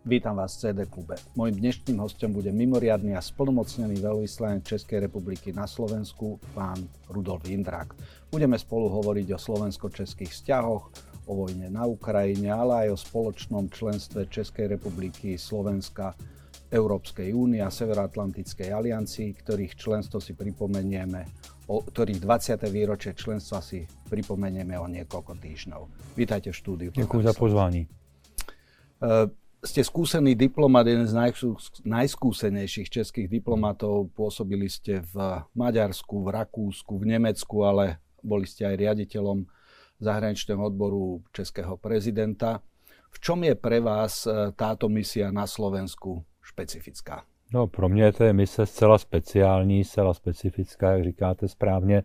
Vítam vás v CD klube. Mojím dnešným hostom bude mimoriadny a splnomocnený veľvyslanec Českej republiky na Slovensku, pán Rudolf Jindrák. Budeme spolu hovoriť o slovensko-českých vzťahoch, o vojne na Ukrajine, ale aj o spoločnom členstve Českej republiky, Slovenska, Európskej únie a Severoatlantickej aliancii, ktorých členstvo si pripomenieme, ktorých 20. výročie členstva si pripomenieme o niekoľko týždňov. Vítajte v štúdiu. Ďakujem za pozvání. Ste skúsený diplomat, jeden z najskúsenejších českých diplomatov. Pôsobili ste v Maďarsku, v Rakúsku, v Nemecku, ale boli ste aj riaditeľom zahraničného odboru českého prezidenta. V čom je pre vás táto misia na Slovensku špecifická? No, pro mě to je mise zcela speciální, zcela specifická, jak říkáte správně.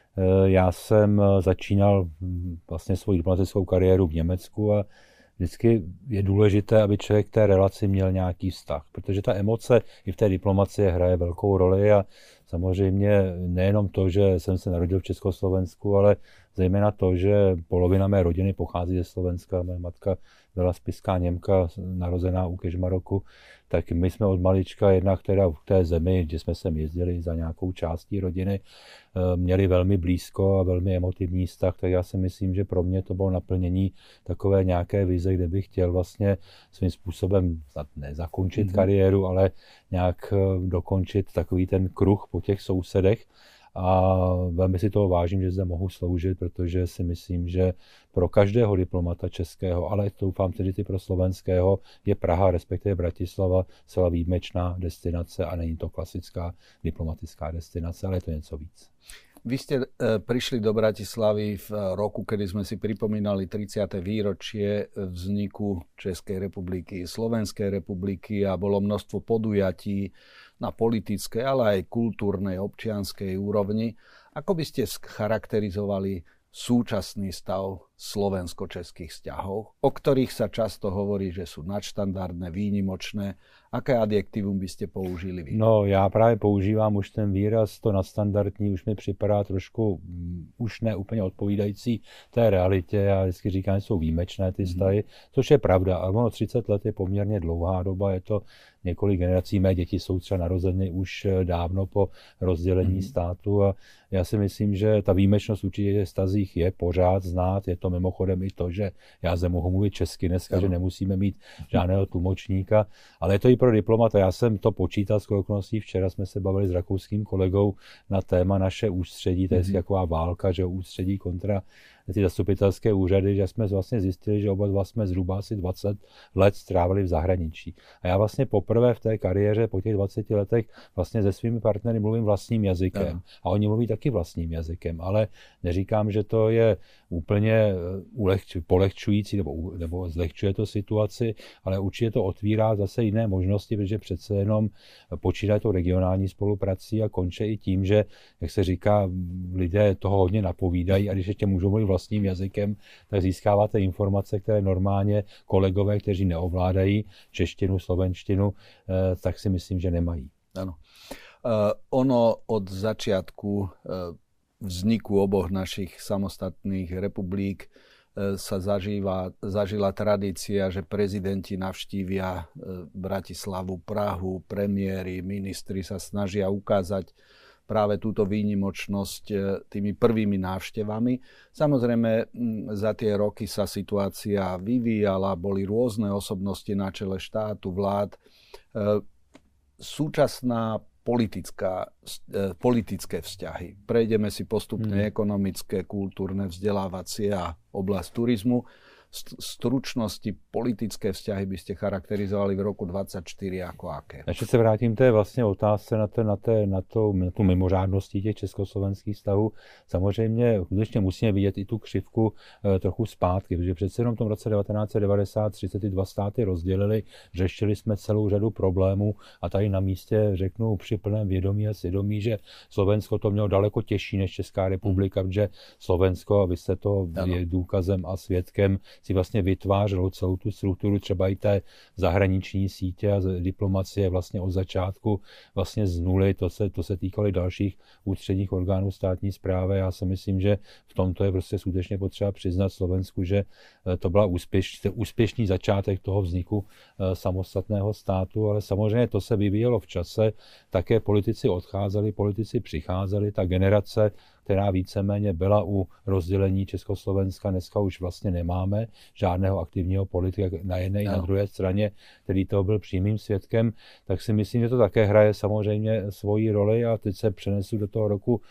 Já jsem začínal vlastně svou diplomatickou kariéru v Německu a vždycky je důležité, aby člověk k té relaci měl nějaký vztah, protože ta emoce i v té diplomacii hraje velkou roli a samozřejmě nejenom to, že jsem se narodil v Československu, ale zejména to, že polovina mé rodiny pochází ze Slovenska. Moje matka byla spiská Němka, narozená u Kežmaroku, tak my jsme od malička jednak teda v té zemi, kde jsme sem jezdili za nějakou částí rodiny, měli velmi blízko a velmi emotivní vztah, tak já si myslím, že pro mě to bylo naplnění takové nějaké vize, kde bych chtěl vlastně svým způsobem nezakončit kariéru, ale nějak dokončit takový ten kruh po těch sousedech. A velmi si toho vážím, že zde mohu sloužit, protože si myslím, že pro každého diplomata českého, ale doufám tedy i pro slovenského, je Praha, respektive Bratislava, celá výjimečná destinace a není to klasická diplomatická destinace, ale je to něco víc. Vy ste prišli do Bratislavy v roku, kedy sme si pripomínali 30. výročie vzniku Českej republiky, Slovenskej republiky a bolo množstvo podujatí na politickej, ale aj kultúrnej, občianskej úrovni. Ako by ste charakterizovali súčasný stav slovensko-českých vzťahov, o ktorých sa často hovorí, že sú nadštandardné, výnimočné? Aké adjektívum by ste použili vy? No, já právě používám už ten výraz, to nadstandardní už mi připadá trošku už ne úplně odpovídající té realitě. Já vždycky říkám, že jsou výjimečné ty vztahy, což je pravda. A ono 30 let je poměrně dlouhá doba, je to několik generací. Mé děti jsou třeba narozeny už dávno po rozdělení státu a já si myslím, že ta výjimečnost určitě v vztazích je pořád znát. Je to mimochodem i to, že já zde mohu mluvit česky dneska, že nemusíme mít žádného tlumočníka, ale je to i pro diplomata. Já jsem to počítal s okolností. Včera jsme se bavili s rakouským kolegou na téma naše ústředí, to je taková válka, že ústředí kontra ty zastupitelské úřady, že jsme vlastně zjistili, že oba dva jsme zhruba asi 20 let strávili v zahraničí. A já vlastně poprvé v té kariéře po těch 20 letech vlastně se svými partnery mluvím vlastním jazykem. A oni mluví taky vlastním jazykem, ale neříkám, že to je úplně polehčující nebo zlehčuje to situaci, ale určitě to otvírá zase jiné možnosti, protože přece jenom počínají to regionální spoluprací a končí i tím, že, jak se říká, lidé toho hodně napovídají a když ještě můžou mluvit vlastním jazykem, tak získáváte informace, které normálně kolegové, kteří neovládají češtinu, slovenštinu, tak si myslím, že nemají. Áno. Ono od začiatku vzniku oboch našich samostatných republik sa zažila tradícia, že prezidenti navštívia Bratislavu, Prahu, premiéri, ministri sa snažia ukázať práve túto výnimočnosť tými prvými návštevami. Samozrejme, za tie roky sa situácia vyvíjala, boli rôzne osobnosti na čele štátu, vlád. Súčasná politické vzťahy. Prejdeme si postupne ekonomické, kultúrne, vzdelávacie a oblasť turizmu. Stručnosti politické vzťahy by ste charakterizovali v roku 2024 jako aké? Ještě se vrátím té vlastně otázce na tu mimořádností těch československých vztahů. Samozřejmě skutečně musíme vidět i tu křivku trochu zpátky, protože přece jenom v tom roce 1993 se ty dva státy rozdělili, řešili jsme celou řadu problémů a tady na místě řeknu při plném vědomí a svědomí, že Slovensko to mělo daleko těžší než Česká republika, protože Slovensko, a vy jste to je důkazem a svědkem, si vlastně vytvářelo celou tu strukturu třeba i té zahraniční sítě a diplomacie vlastně od začátku vlastně z nuly, to se týkalo i dalších ústředních orgánů státní správy. Já si myslím, že v tomto je prostě skutečně potřeba přiznat Slovensku, že to byla úspěšný začátek toho vzniku samostatného státu, ale samozřejmě to se vyvíjelo v čase, také politici odcházeli, politici přicházeli, ta generace, která víceméně byla u rozdělení Československa, dneska už vlastně nemáme žádného aktivního politika na jedné i na druhé straně, který toho byl přímým svědkem, tak si myslím, že to také hraje samozřejmě svoji roli a teď se přenesu do toho roku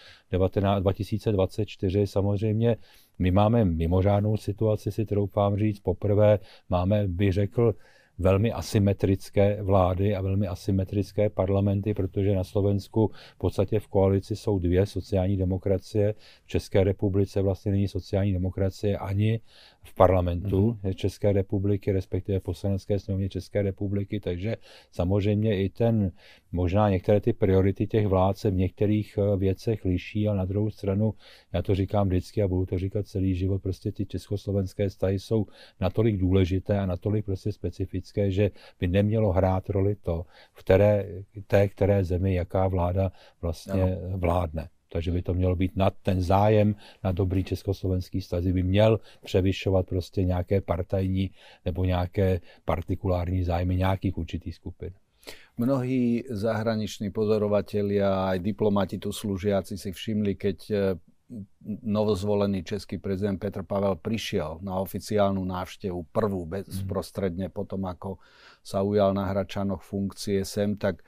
2024. Samozřejmě my máme mimořádnou situaci, si troufám říct, poprvé máme, bych řekl, velmi asymetrické vlády a velmi asymetrické parlamenty, protože na Slovensku v podstatě v koalici jsou dvě sociální demokracie. V České republice vlastně není sociální demokracie ani v parlamentu České republiky, respektive v Poslanecké sněmovně České republiky, takže samozřejmě i možná některé ty priority těch vlád se v některých věcech liší, ale na druhou stranu, já to říkám vždycky a budu to říkat celý život, prostě ty československé vztahy jsou natolik důležité a natolik prostě specifické, že by nemělo hrát roli to, v které zemi jaká vláda vlastně vládne. Takže by to mělo být nad ten zájem na dobrý československý vztah, by měl převyšovat prostě nějaké partajní nebo nějaké partikulární zájmy nějakých určitých skupin. Mnohí zahraniční pozorovatelia a aj diplomati tu slúžiaci si všimli, keď novozvolený český prezident Petr Pavel prišiel na oficiálnu návštevu, prvú bezprostredne potom, ako sa ujal na Hradčanoch funkcie sem, tak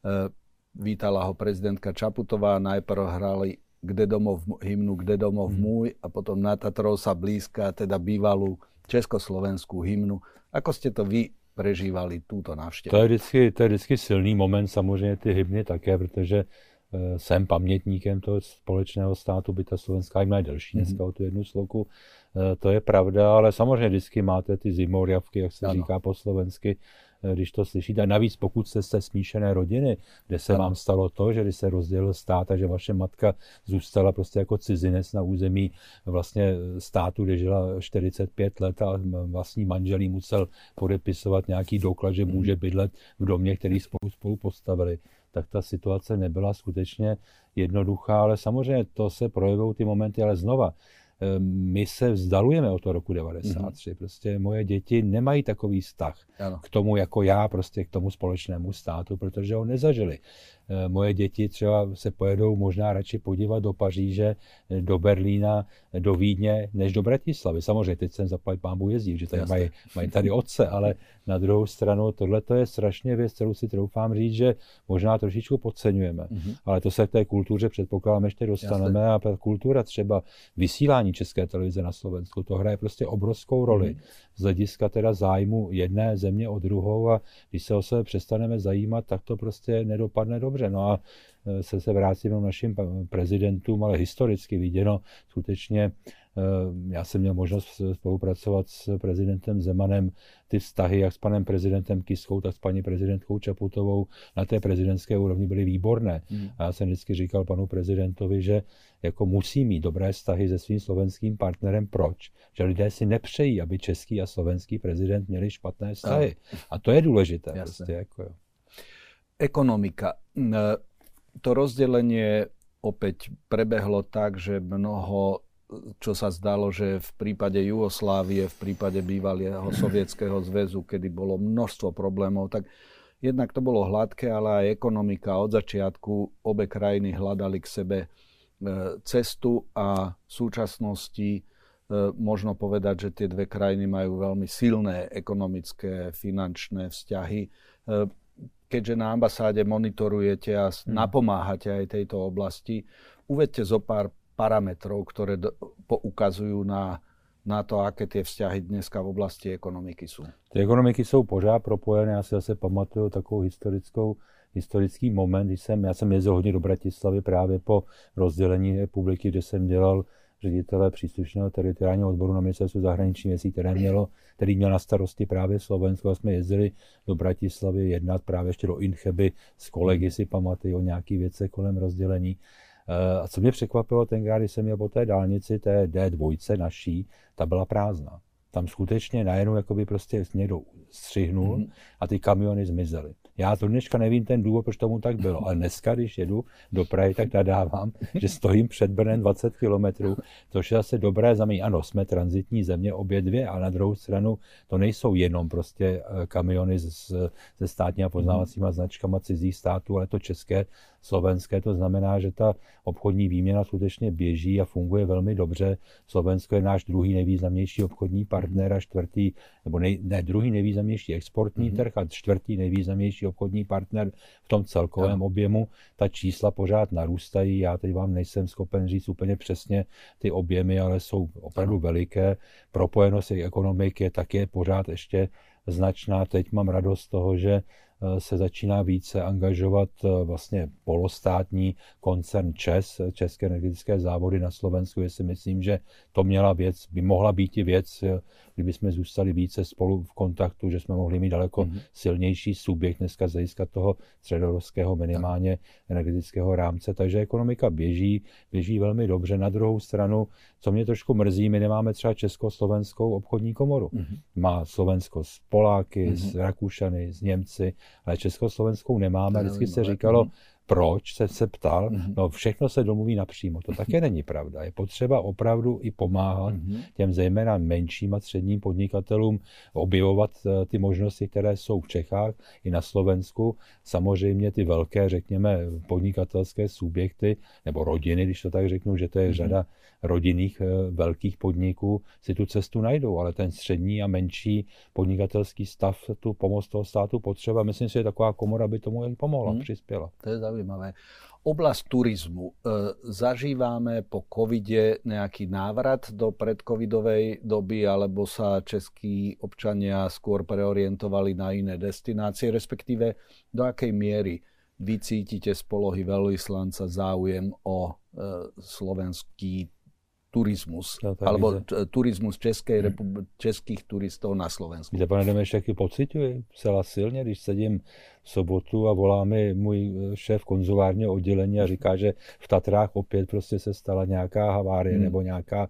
vítala ho prezidentka Čaputová, najprv hrali hymnu Kde domov môj a potom na Tatrov sa blízka, teda bývalú československú hymnu. Ako ste to vy prežívali túto návštěvu? To je vždycky silný moment, samozřejmě ty hymny také, protože jsem pamětníkem toho společného státu, by ta slovenská hymna je delší dneska o tu jednu sloku. To je pravda, ale samozřejmě vždycky máte ty zimorjavky, jak se říká po slovensky, když to slyšíte. A navíc pokud jste z té smíšené rodiny, kde se vám stalo to, že když se rozdělil stát a že vaše matka zůstala prostě jako cizinec na území vlastně státu, kde žila 45 let a vlastní manželí musel podepisovat nějaký doklad, že může bydlet v domě, který spolu postavili, tak ta situace nebyla skutečně jednoduchá, ale samozřejmě to se projevují ty momenty, ale znova, my se vzdalujeme od toho roku 93. Prostě moje děti nemají takový vztah k tomu, jako já, prostě k tomu společnému státu, protože ho nezažili. Moje děti třeba se pojedou možná radši podívat do Paříže, do Berlína, do Vídně, než do Bratislavy. Samozřejmě teď jsem zaplať pánbůh jezdí, že tady mají tady otce, ale na druhou stranu tohle je strašně věc, kterou si troufám říct, že možná trošičku podceňujeme. Ale to se k té kultuře předpokládám ještě dostaneme a kultura třeba vysílání České televize na Slovensku, to hraje prostě obrovskou roli z hlediska teda zájmu jedné země o druhou a když se o sebe přestaneme zajímat, tak to prostě nedopadne dobře. No a se vrátím k našim prezidentům, ale historicky viděno skutečně, já jsem měl možnost spolupracovat s prezidentem Zemanem, ty vztahy jak s panem prezidentem Kiskou, tak s paní prezidentkou Čaputovou na té prezidentské úrovni byly výborné. A já jsem vždycky říkal panu prezidentovi, že jako musí mít dobré vztahy se svým slovenským partnerem. Proč? Že lidé si nepřejí, aby český a slovenský prezident měli špatné vztahy. A to je důležité. Prostě, jako, Ekonomika. To rozdelenie opäť prebehlo tak, že mnoho, čo sa zdalo, že v prípade Jugoslávie, v prípade bývalého Sovietskeho zväzu, kedy bolo množstvo problémov, tak jednak to bolo hladké, ale aj ekonomika. Od začiatku obe krajiny hľadali k sebe cestu a v súčasnosti možno povedať, že tie dve krajiny majú veľmi silné ekonomické, finančné vzťahy. Keďže na ambasáde monitorujete a napomáhate aj tejto oblasti, uvedte zo pár parametrov, ktoré poukazujú na to, aké tie vzťahy dneska v oblasti ekonomiky sú. Ty ekonomiky jsou pořád propojené, já si zase pamatuju takovou historický moment, já jsem jezdil hodně do Bratislavy právě po rozdělení republiky, kde jsem dělal ředitele příslušného teritoriálního odboru na ministerstvu zahraničních věcí, který měl na starosti právě Slovensko a jsme jezdili do Bratislavy jednat právě ještě do Incheby s kolegy, si pamatuju o nějaký věce kolem rozdělení. A co mě překvapilo tenkrát, když jsem měl po té dálnici, té D2 naší, ta byla prázdná. tam skutečně najednou jakoby prostě někdo střihnul a ty kamiony zmizely. Já do dneška nevím ten důvod, proč tomu tak bylo, ale dneska, když jedu do Prahy, tak nadávám, že stojím před Brnem 20 kilometrů, což je zase dobré znamení. Ano, jsme tranzitní země obě dvě, ale na druhou stranu to nejsou jenom prostě kamiony se státníma poznávacíma značkama cizích států, ale to české, slovenské, to znamená, že ta obchodní výměna skutečně běží a funguje velmi dobře. Slovensko je náš druhý nejvýznamnější obchodní partner a čtvrtý, nebo druhý nejvýznamnější exportní trh a čtvrtý nejvýznamnější obchodní partner v tom celkovém objemu. Ta čísla pořád narůstají, já teď vám nejsem schopen říct úplně přesně ty objemy, ale jsou opravdu veliké. Propojenost ekonomiky je pořád ještě značná. Teď mám radost z toho, že se začíná více angažovat vlastně polostátní koncern ČEZ, České energetické závody na Slovensku. Já si myslím, že to by mohla být i věc, kdyby jsme zůstali více spolu v kontaktu, že jsme mohli mít daleko silnější subjekt dneska z hlediska toho středoevropského minimálně energetického rámce. Takže ekonomika běží velmi dobře. Na druhou stranu, co mě trošku mrzí, my nemáme třeba Československou obchodní komoru. Má Slovensko s Poláky, s Rakušany, s Němci, ale Československou nemáme. Vždycky se říkalo, proč, se ptal, no všechno se domluví napřímo. To také není pravda. Je potřeba opravdu i pomáhat těm zejména menším a středním podnikatelům objevovat ty možnosti, které jsou v Čechách i na Slovensku. Samozřejmě ty velké, řekněme, podnikatelské subjekty nebo rodiny, když to tak řeknu, že to je řada rodinných velkých podniků, si tu cestu najdou, ale ten střední a menší podnikatelský stav tu pomoc toho státu potřeba. Myslím si, že taková komora by tomu i pomohla, přispěla. To je zaujímavé. Oblasť turizmu. Zažívame po covide nejaký návrat do predcovidovej doby, alebo sa českí občania skôr preorientovali na iné destinácie, respektíve do akej miery vy cítite z polohy veľvyslanca záujem o slovenský turismus, alebo turismus českých turistov na Slovensku. Víte, pane Demeš, jaký pociťuji celá silně, když sedím v sobotu a volá mi můj šéf konzulárního oddělení a říká, že v Tatrách opět prostě se stala nějaká havárie nebo nějaká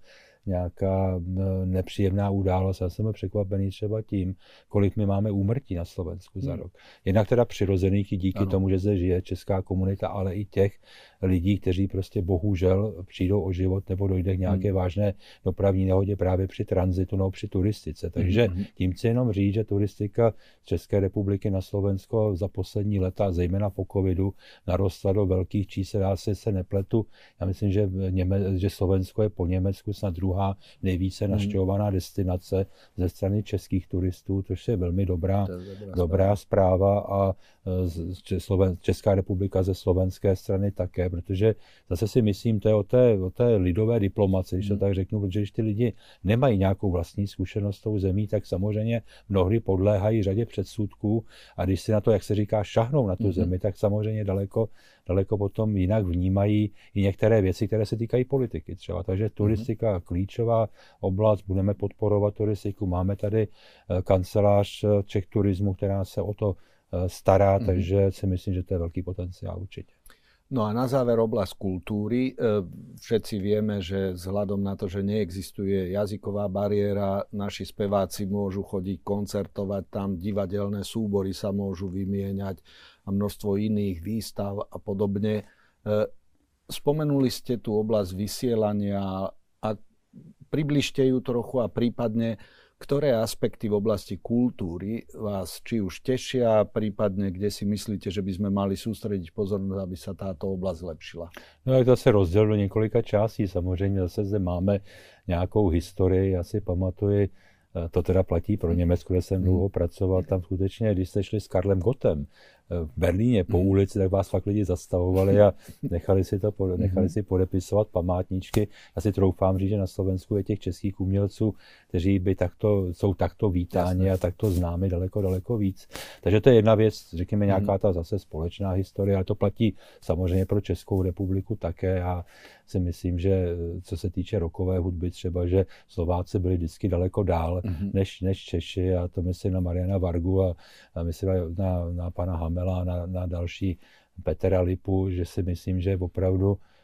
nepříjemná událost. Já jsem překvapený třeba tím, kolik my máme úmrtí na Slovensku za rok. Jednak teda přirozených i díky tomu, že zde žije česká komunita, ale i těch lidí, kteří prostě bohužel přijdou o život nebo dojde k nějaké vážné dopravní nehodě právě při tranzitu nebo při turistice. Takže tím chci jenom říct, že turistika z České republiky na Slovensko za poslední leta, zejména po covidu, narostla do velkých čísel. Já se nepletu. Já myslím, že Slovensko je po Německu snad druhá nejvíce navštěvovaná destinace ze strany českých turistů, což je velmi dobrá zpráva a Česká republika ze slovenské strany také, protože zase si myslím, to je o té lidové diplomaci, když to tak řeknu, protože když ty lidi nemají nějakou vlastní zkušenost s tou zemí, tak samozřejmě mnohdy podléhají řadě předsudků a když si na to, jak se říká, šahnou na tu zemi, tak samozřejmě daleko potom jinak vnímají i některé věci, které se týkají politiky třeba. Takže turistika klíčová oblast, budeme podporovat turistiku, máme tady kancelář Czech turismu, která se o to stará, takže si myslím, že to je velký potenciál určite. No a na záver oblasť kultúry. Všetci vieme, že vzhľadom na to, že neexistuje jazyková bariéra, naši speváci môžu chodiť koncertovať, tam divadelné súbory sa môžu vymieňať a množstvo iných výstav a podobne. Spomenuli ste tú oblasť vysielania a približte ju trochu a prípadne ktoré aspekty v oblasti kultúry vás či už tešia, prípadne kde si myslíte, že by sme mali sústrediť pozornosť, aby sa táto oblasť zlepšila? No je to se rozděl do několika částí. Samozřejmě zase zde máme nějakou historii. Já si pamatuji, to teda platí pro Německo, kde jsem dlouho pracoval, tam skutečně, když jste šli s Karlem Gottem v Berlíně po ulici, tak vás fakt lidi zastavovali a nechali si podepisovat památníčky. Já si troufám říct, že na Slovensku je těch českých umělců, kteří jsou takto vítáni a takto známi daleko víc. Takže to je jedna věc, řekněme nějaká ta zase společná historie, ale to platí samozřejmě pro Českou republiku také. Já si myslím, že co se týče rockové hudby třeba, že Slováci byli vždycky daleko dál než Češi, a to myslím na Mariana Vargu a myslím na pana Hamela, na další Petra Lipu, že si myslím, že opravdu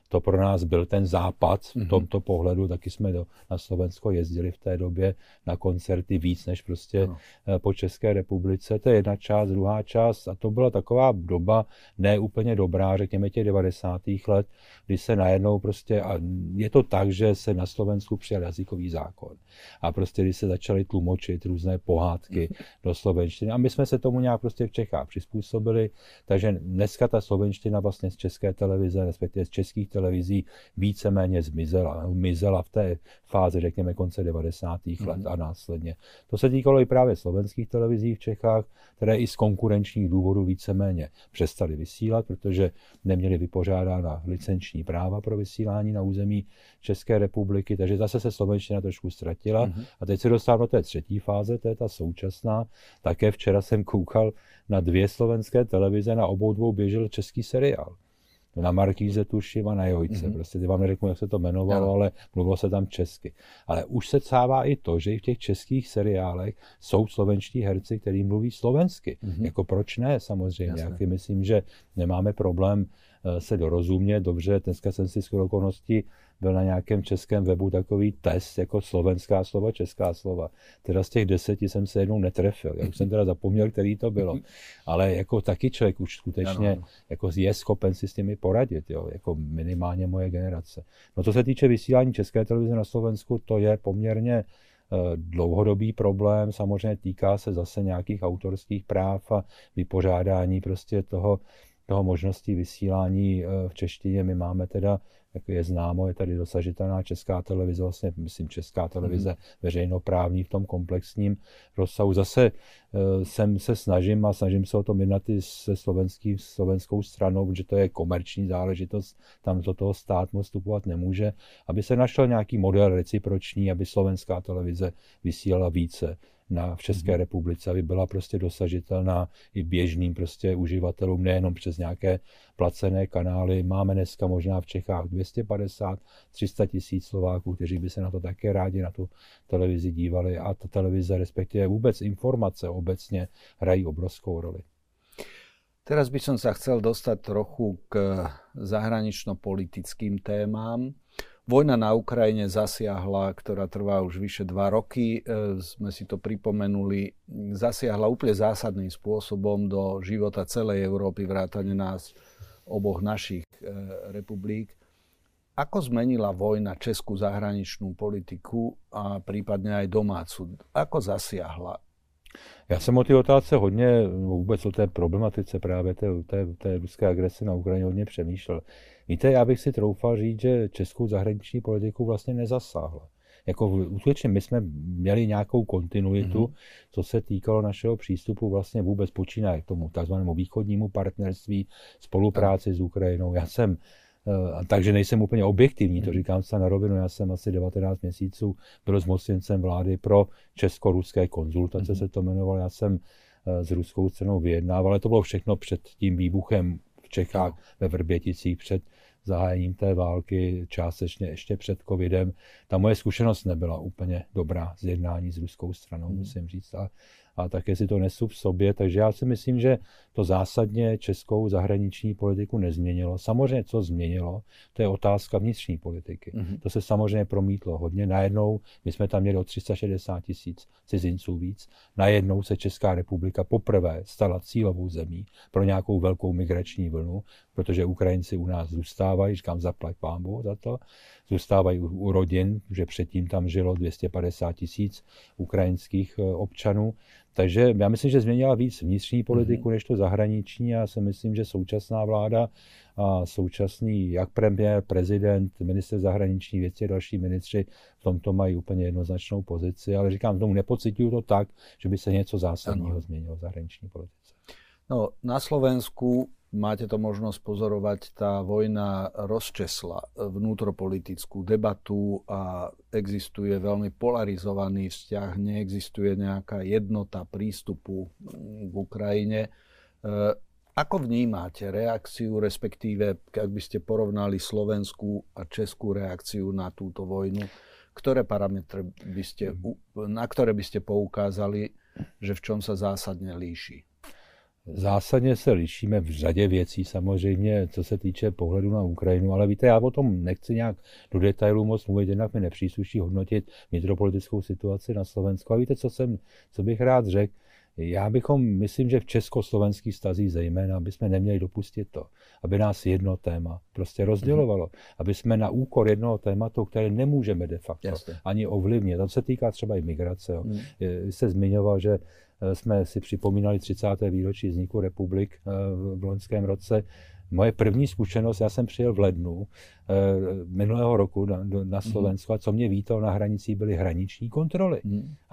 to pro nás byl ten západ v tomto pohledu. Taky jsme na Slovensko jezdili v té době na koncerty víc než prostě po České republice. To je jedna část, druhá část a to byla taková doba ne úplně dobrá, řekněme těch 90. let, kdy se najednou prostě, a je to tak, že se na Slovensku přijal jazykový zákon a prostě když se začaly tlumočit různé pohádky do slovenštiny a my jsme se tomu nějak prostě v Čechách přizpůsobili, takže dneska ta slovenština vlastně z České televize, respektive z českých televizí víceméně zmizela v té fázi, řekněme, konce 90. let a následně. To se týkalo i právě slovenských televizí v Čechách, které i z konkurenčních důvodů víceméně přestaly vysílat, protože neměly vypořádána licenční práva pro vysílání na území České republiky, takže zase se slovenština trošku ztratila. A teď se dostávám do té třetí fáze, to je ta současná. Také včera jsem koukal na 2 slovenské televize, na obou dvou běžel český seriál. Na Markíze tuším a na Jojce. Prostě vám neřeknu, jak se to jmenovalo, ale mluvilo se tam česky. Ale už se cává i to, že i v těch českých seriálech jsou slovenští herci, kteří mluví slovensky. Jako proč ne, samozřejmě. Já myslím, že nemáme problém se dorozumět. Dobře, dneska jsem si shodou okolností byl na nějakém českém webu takový test, jako slovenská slova, česká slova. Teda z těch 10 jsem se jednou netrefil. Já už jsem teda zapomněl, který to bylo. Ale jako taky člověk už skutečně jako je schopen si s těmi poradit, jo? Jako minimálně moje generace. No to se týče vysílání České televize na Slovensku, to je poměrně dlouhodobý problém. Samozřejmě týká se zase nějakých autorských práv a vypořádání prostě toho možností vysílání v češtině. My máme teda, jak je známo, je tady dosažitelná Česká televize, vlastně myslím Česká televize veřejnoprávní v tom komplexním rozsahu. Zase se snažím se o tom jednat i se slovenskou stranou, protože to je komerční záležitost, tam do toho stát moc vstupovat nemůže, aby se našel nějaký model reciproční, aby slovenská televize vysílala více v České republice, aby byla prostě dosažitelná i běžným prostě uživatelům, nejenom přes nějaké placené kanály. Máme dneska možná v Čechách 250-300 tisíc Slováků, kteří by se na to také rádi na tu televizi dívali a ta televize, respektive vůbec informace obecně hrají obrovskou roli. Teraz by som sa chcel dostať trochu k zahranično-politickým témam. Vojna na Ukrajine zasiahla, ktorá trvá už vyše 2 roky, sme si to pripomenuli, zasiahla úplne zásadným spôsobom do života celej Európy, vrátane nás, oboch našich republik. Ako zmenila vojna českú zahraničnú politiku a prípadne aj domácu? Ako zasiahla? Já jsem o té otázce hodně, vůbec o té problematice právě té ruské agrese na Ukrajině hodně přemýšlel. Víte, já bych si troufal říct, že českou zahraniční politiku vlastně nezasáhla. Jako skutečně my jsme měli nějakou kontinuitu, co se týkalo našeho přístupu vlastně vůbec počínaje k tomu takzvanému východnímu partnerství, spolupráci s Ukrajinou. Takže nejsem úplně objektivní, to říkám se na rovinu, já jsem asi 19 měsíců byl zmocněncem vlády pro česko-ruské konzultace, se to jmenovalo, já jsem s ruskou stranou vyjednával, ale to bylo všechno před tím výbuchem v Čechách ve Vrběticích, před zahájením té války, částečně ještě před covidem. Ta moje zkušenost nebyla úplně dobrá z jednání s ruskou stranou, musím říct. A také si to nesu v sobě, takže já si myslím, že to zásadně českou zahraniční politiku nezměnilo. Samozřejmě, co změnilo, to je otázka vnitřní politiky. To se samozřejmě promítlo hodně. Najednou, my jsme tam měli o 360 tisíc cizinců víc, najednou se Česká republika poprvé stala cílovou zemí pro nějakou velkou migrační vlnu, protože Ukrajinci u nás zůstávají, říkám zaplať pánbůh za to, zůstávají u rodin, že předtím tam žilo 250 tisíc ukrajinských občanů. Takže já myslím, že změnila víc vnitřní politiku než to zahraniční. Já si myslím, že současná vláda a současný jak premiér, prezident, ministr zahraničních věcí a další ministři v tomto mají úplně jednoznačnou pozici, ale říkám, tomu nepociťuju to tak, že by se něco zásadního změnilo v zahraniční politice. No, na Slovensku máte to možnosť pozorovať, tá vojna rozčesla vnútropolitickú debatu a existuje veľmi polarizovaný vzťah, neexistuje nejaká jednota prístupu k Ukrajine. Ako vnímate reakciu, respektíve, ak by ste porovnali slovenskú a českú reakciu na túto vojnu, ktoré parametre na ktoré by ste poukázali, že v čom sa zásadne líši? Zásadně se lišíme v řadě věcí samozřejmě, co se týče pohledu na Ukrajinu, ale víte, já o tom nechci nějak do detailů moc mluvit, jednak mi nepřísluší hodnotit vnitropolitickou situaci na Slovensku. A víte, co bych rád řekl? Myslím, že v československých vztazích zejména, bychom neměli dopustit to, aby nás jedno téma prostě rozdělovalo, aby jsme na úkor jednoho tématu, které nemůžeme de facto ani ovlivnit. To se týká třeba i migrace. Vy jste zmiňoval, že jsme si připomínali 30. výročí vzniku republik v loňském roce. Moje první zkušenost, já jsem přijel v lednu minulého roku na Slovensko a co mě vítalo na hranicích, byly hraniční kontroly. A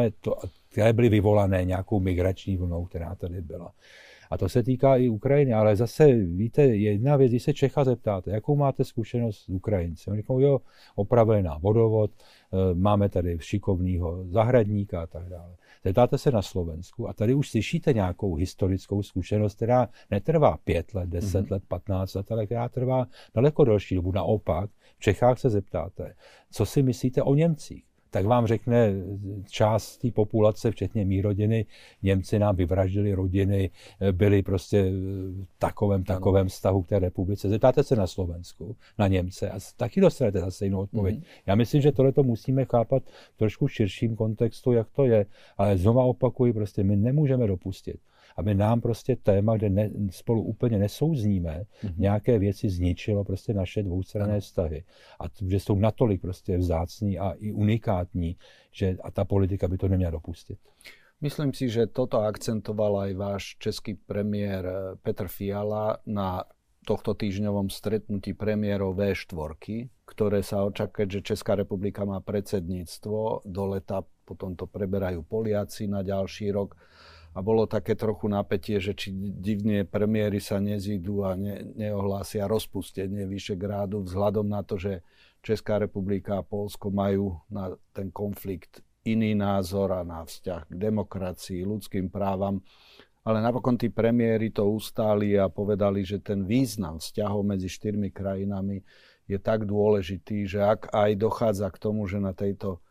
které byly vyvolané nějakou migrační vlnou, která tady byla. A to se týká i Ukrajiny, ale zase víte, jedna věc, když se Čecha zeptáte, jakou máte zkušenost s Ukrajinci. Oni říkají, jo, opravená vodovod, máme tady šikovného zahradníka a tak dále. Zeptáte se na Slovensku a tady už slyšíte nějakou historickou zkušenost, která netrvá 5 let, 10 let, 15 let, ale která trvá daleko delší dobu. Naopak, v Čechách se zeptáte, co si myslíte o Němcích. Tak vám řekne část té populace, včetně mý rodiny, Němci nám vyvraždili rodiny, byli prostě v takovém vztahu k té republice. Zeptáte se na Slovensku, na Němce a taky dostanete zase jinou odpověď. Já myslím, že tohleto musíme chápat v trošku širším kontextu, jak to je, ale znova opakuji, prostě my nemůžeme dopustit, aby nám prostě téma, kde spolu úplně nesouzníme, nějaké věci zničilo prostě naše dvoustranné vztahy. A že jsou natolik prostě vzácný a i unikátní, že a ta politika by to neměla dopustit. Myslím si, že toto akcentoval aj váš český premiér Petr Fiala na tohto týždňovom stretnutí premiérov V4, ktoré sa očakuje, že Česká republika má predsedníctvo do leta, potom to preberajú Poliaci na ďalší rok. A bolo také trochu napätie, že či divne premiéry sa nezídu a neohlásia rozpustenie Vyšegrádu vzhľadom na to, že Česká republika a Poľsko majú na ten konflikt iný názor a na vzťah k demokracii, ľudským právam. Ale napokon tí premiéri to ustáli a povedali, že ten význam vzťahov medzi 4 krajinami je tak dôležitý, že ak aj dochádza k tomu, že na tejto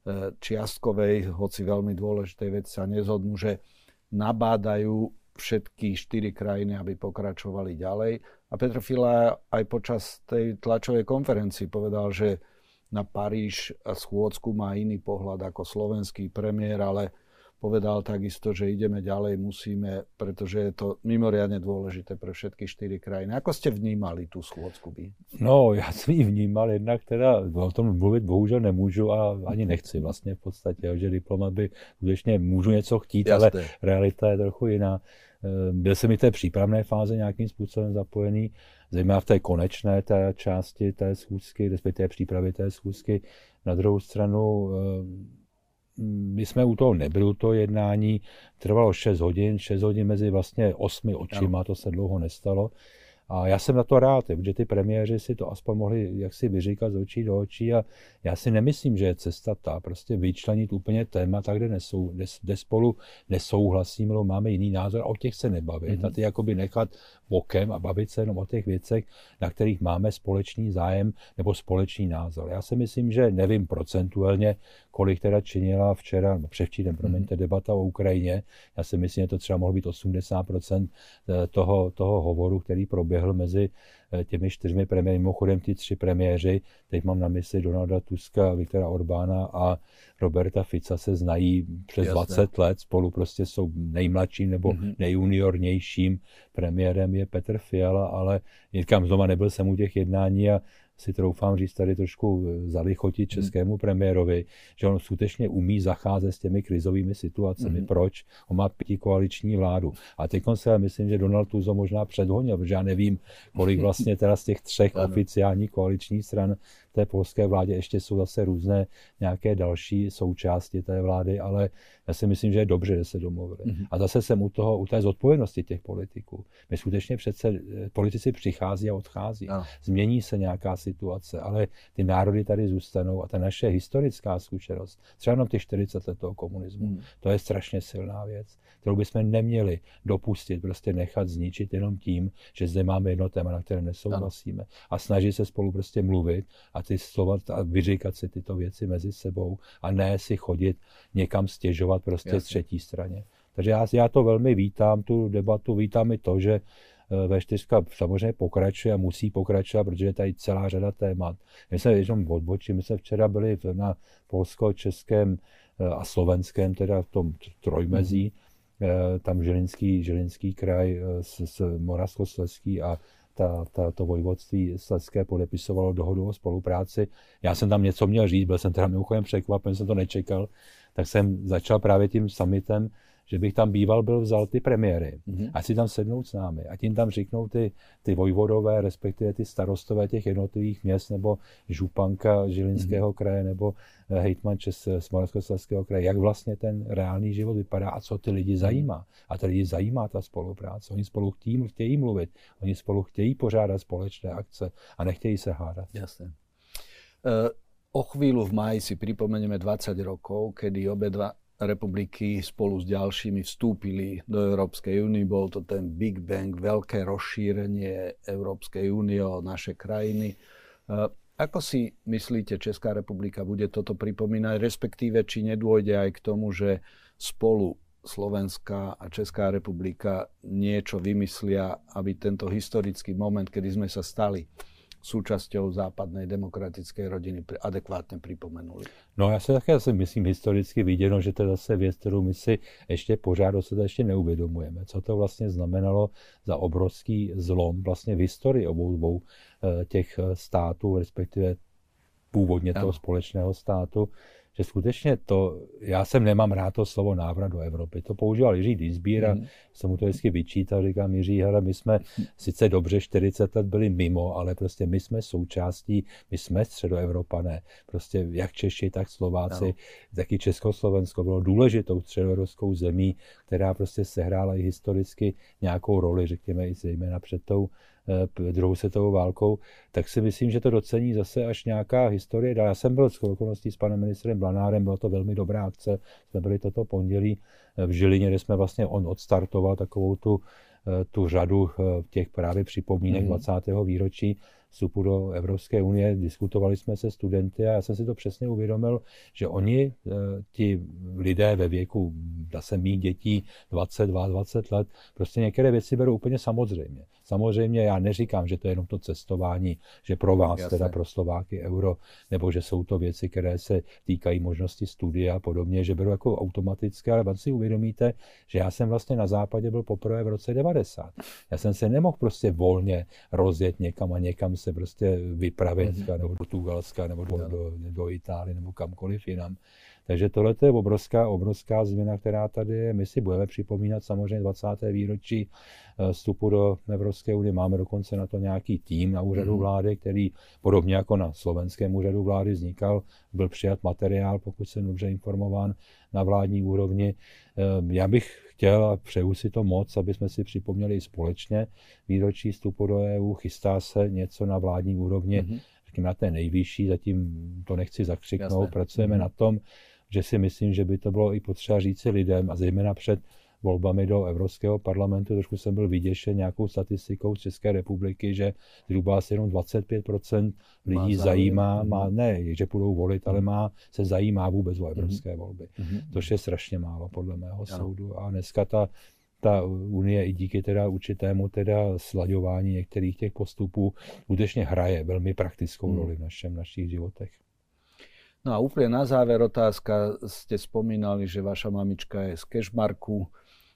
čiastkovej, hoci veľmi dôležitej veci sa nezhodnú, že nabádajú všetky 4 krajiny, aby pokračovali ďalej. A Petr Fiala aj počas tej tlačovej konferencii povedal, že na Paríž a schôdzku má iný pohľad ako slovenský premiér, ale povedal takisto, že ideme ďalej, musíme, pretože je to mimoriadne dôležité pre všetky 4 krajiny. Ako ste vnímali tú schôdzku by? No, já jsem ji vnímal, jednak teda o tom mluvit bohužel nemůžu a ani nechci vlastně v podstatě, že diplomat by skutečně můžu něco chtít, ale realita je trochu jiná. Byl jsem i v té přípravné fáze nějakým způsobem zapojený, zejména v té konečné té části té schůzky, respektive přípravy té schůzky. Na druhou stranu my jsme u toho nebyli, u toho jednání, trvalo 6 hodin mezi vlastně 8 očima, to se dlouho nestalo. A já jsem na to rád, protože ty premiéři si to aspoň mohli jaksi vyříkat z očí do očí a já si nemyslím, že je cesta ta prostě vyčlenit úplně témata, kde spolu nesouhlasíme, máme jiný názor a o těch se nebavit a ty jakoby nechat bokem a bavit se jenom o těch věcech, na kterých máme společný zájem nebo společný názor. Já si myslím, že nevím procentuálně, kolik teda činila včera, převčírem, debata o Ukrajině. Já si myslím, že to třeba mohlo být 80% toho hovoru, který proběhl mezi těmi 4 premiéry. Mimochodem ty 3 premiéři, teď mám na mysli Donalda Tuska, Viktora Orbána a Roberta Fica, se znají přes 20 let, spolu prostě jsou nejmladším nebo nejjuniornějším premiérem je Petr Fiala, ale říkám, znova nebyl jsem u těch jednání a si troufám říct tady trošku zalichotit českému premiérovi, že on skutečně umí zacházet s těmi krizovými situacemi. Proč? On má 5koaliční vládu. A teď se myslím, že Donald Tusk možná předhonil, protože já nevím, kolik vlastně teda z těch 3 oficiálních koaličních stran té polské vládě ještě jsou zase různé nějaké další součásti té vlády, ale já si myslím, že je dobře, že se domluvili. A zase jsem u té zodpovědnosti těch politiků. My skutečně přece politici přichází a odchází. Změní se nějaká situace, ale ty národy tady zůstanou a ta naše historická zkušenost, třeba jenom těch 40 let toho komunismu, to je strašně silná věc, kterou bychom neměli dopustit, prostě nechat zničit jenom tím, že zde máme jedno téma, na které nesouhlasíme a snažit se spolu prostě mluvit a ty slova a vyříkat si tyto věci mezi sebou a ne si chodit někam stěžovat prostě třetí straně. Takže já to velmi vítám, tu debatu, vítám i to, že V4 samozřejmě pokračuje a musí pokračovat, protože je tady celá řada témat. My jsme jenom odbočili, my jsme včera byli na polsko-českém a slovenském, teda v tom trojmezí, tam Žilinský kraj s Moravskoslezský a to vojvodství slezské podepisovalo dohodu o spolupráci. Já jsem tam něco měl říct, byl jsem teda mimochodem překvapen, jsem to nečekal, tak jsem začal právě tím summitem, že bych tam byl vzal ty premiéry, ať si tam sednout s námi, ať jim tam řeknou ty vojvodové, respektive ty starostové těch jednotlivých měst, nebo županka Žilinského kraje, nebo hejtman z Moravskoslezského kraje, jak vlastně ten reálný život vypadá a co ty lidi zajímá. A ty lidi zajímá ta spolupráce. Oni spolu chtějí mluvit, oni spolu chtějí pořádat společné akce a nechtějí se hádat. Jasne. O chvíľu v máji si pripomenieme 20 rokov, kedy obidva republiky spolu s ďalšími vstúpili do Európskej únie. Bol to ten Big Bang, veľké rozšírenie Európskej únie o naše krajiny. Ako si myslíte, Česká republika bude toto pripomínať, respektíve či nedôjde aj k tomu, že spolu Slovenská a Česká republika niečo vymyslia, aby tento historický moment, kedy sme sa stali súčasťou západnej demokratickej rodiny, adekvátne pripomenuli. No já se také myslím historicky viděno, že to je zase věc, kterou my si ještě pořád ještě neuvědomujeme. Co to vlastně znamenalo za obrovský zlom vlastně v historii obou dvou těch států, respektive původně toho společného státu, že skutečně já jsem nemám rád to slovo návrat do Evropy. To používal Jiří Dienstbier a jsem mu to vždycky vyčítal, říkám Jiří, hele, my jsme sice dobře 40 let byli mimo, ale prostě my jsme součástí, my jsme středoevropané. Prostě jak Češi, tak Slováci, taky Československo bylo důležitou středoevropskou zemí, která prostě sehrála i historicky nějakou roli, řekněme i zejména před tou druhou světovou válkou, tak si myslím, že to docení zase až nějaká historie. Já jsem byl s okolností s panem ministrem Blanárem, byla to velmi dobrá akce, jsme byli toto pondělí v Žilině, kde jsme vlastně on odstartoval takovou tu řadu těch právě připomínek 20. výročí vstupu do Evropské unie, diskutovali jsme se studenty a já jsem si to přesně uvědomil, že oni, ti lidé ve věku, zase mých dětí, 20 let, prostě některé věci berou úplně samozřejmě. Samozřejmě já neříkám, že to je jenom to cestování, že pro vás, teda pro Slováky euro, nebo že jsou to věci, které se týkají možnosti studia a podobně, že berou jako automatické, ale vám si uvědomíte, že já jsem vlastně na západě byl poprvé v roce 90. Já jsem se nemohl prostě volně rozjet někam a někam se prostě vypravit, nebo do Portugalska, nebo do Itálie, nebo kamkoliv jinam. Takže tohle je obrovská změna, která tady je. My si budeme připomínat samozřejmě 20. výročí vstupu do Evropské unie. Máme dokonce na to nějaký tým na úřadu vlády, který podobně jako na slovenském úřadu vlády vznikal. Byl přijat materiál, pokud jsem dobře informován, na vládní úrovni. Já bych chtěl a přeju si to moc, aby jsme si připomněli společně výročí vstupu do EU. Chystá se něco na vládní úrovni, řekněme na té nejvyšší, zatím to nechci zakřiknout. Pracujeme na tom, že si myslím, že by to bylo i potřeba říci lidem a zejména před volbami do Evropského parlamentu. Trošku jsem byl vyděšen nějakou statistikou z České republiky, že zhruba asi jenom 25% lidí zajímá, ne, že budou volit, ale se zajímá vůbec o evropské volby. Což je strašně málo podle mého soudu. A dneska ta unie i díky teda určitému slaďování některých těch postupů skutečně hraje velmi praktickou roli v našich životech. No a úplne na záver otázka, ste spomínali, že vaša mamička je z Kežmarku.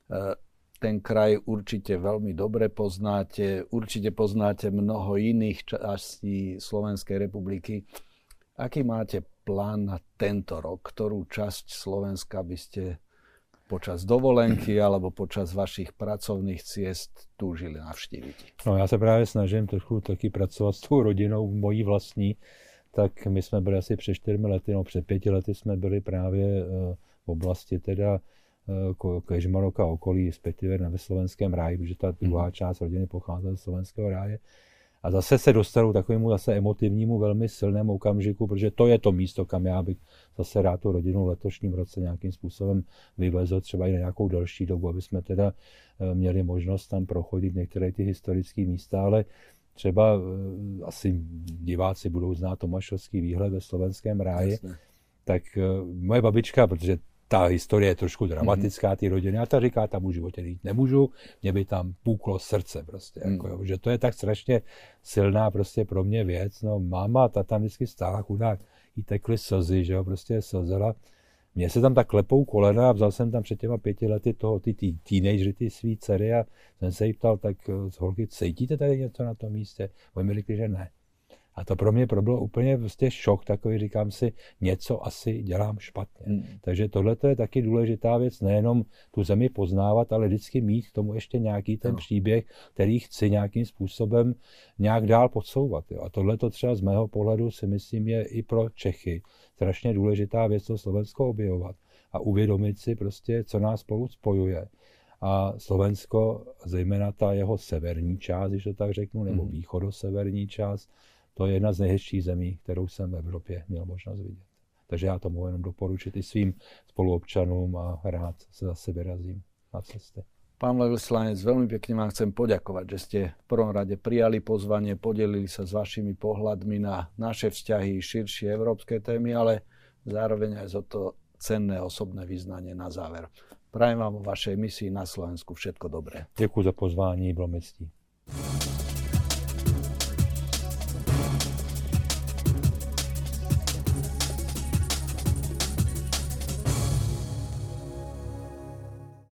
Ten kraj určite veľmi dobre poznáte, určite poznáte mnoho iných častí Slovenskej republiky. Aký máte plán na tento rok? Ktorú časť Slovenska by ste počas dovolenky alebo počas vašich pracovných ciest túžili navštíviť? No já se právě snažím trochu taky pracovat s tou rodinou mojí vlastní. Tak my jsme byli asi před 4 lety, no před 5 lety jsme byli právě v oblasti teda Kežmaroka okolí, respektive ve Slovenském ráji, protože ta druhá část rodiny pocházela z Slovenského ráje. A zase se dostanou takovému zase emotivnímu, velmi silnému okamžiku, protože to je to místo, kam já bych zase rád tu rodinu v letošním roce nějakým způsobem vyvezl, třeba i na nějakou delší dobu, aby jsme teda měli možnost tam prochodit některé ty historické místa, ale třeba asi diváci budou znát Tomášovský výhled ve Slovenském ráji, tak moje babička, protože ta historie je trošku dramatická, ty rodiny, a ta říká, tam už v životě jít nemůžu, mě by tam puklo srdce prostě, jako, jo, že to je tak strašně silná prostě pro mě věc, no máma, ta tam vždycky stála, chudák, jí tekly slzy, že jo, prostě slzela. Mně se tam tak klepou kolena a vzal jsem tam před těma 5 lety ty teenagery, ty svý dcery a jsem se jí ptal, tak z holky, cítíte tady něco na tom místě? Oni mi řekli, že ne. A to pro mě bylo úplně prostě šok takový, říkám si, něco asi dělám špatně. Takže tohle je taky důležitá věc, nejenom tu zemi poznávat, ale vždycky mít k tomu ještě nějaký ten příběh, který chci nějakým způsobem nějak dál podsouvat. Jo. A tohle to třeba z mého pohledu si myslím je i pro Čechy strašně důležitá věc, to Slovensko objevovat a uvědomit si prostě, co nás spolu spojuje. A Slovensko, zejména ta jeho severní část, když to tak řeknu, nebo východoseverní část, to je jedna z nejhezčích zemí, kterou jsem v Evropě měl možnost vidět. Takže já to mohu jenom doporučit i svým spoluobčanům a rád se zase vyrazím na cesty. Pán veľvyslanec, veľmi pekne vám chcem poďakovať, že ste v prvom rade prijali pozvanie, podelili sa s vašimi pohľadmi na naše vzťahy, širšie európske témy, ale zároveň aj za to cenné osobné vyznanie na záver. Prajem vám vo vašej misii na Slovensku všetko dobré. Děkuji za pozvání, bylo mi ctí.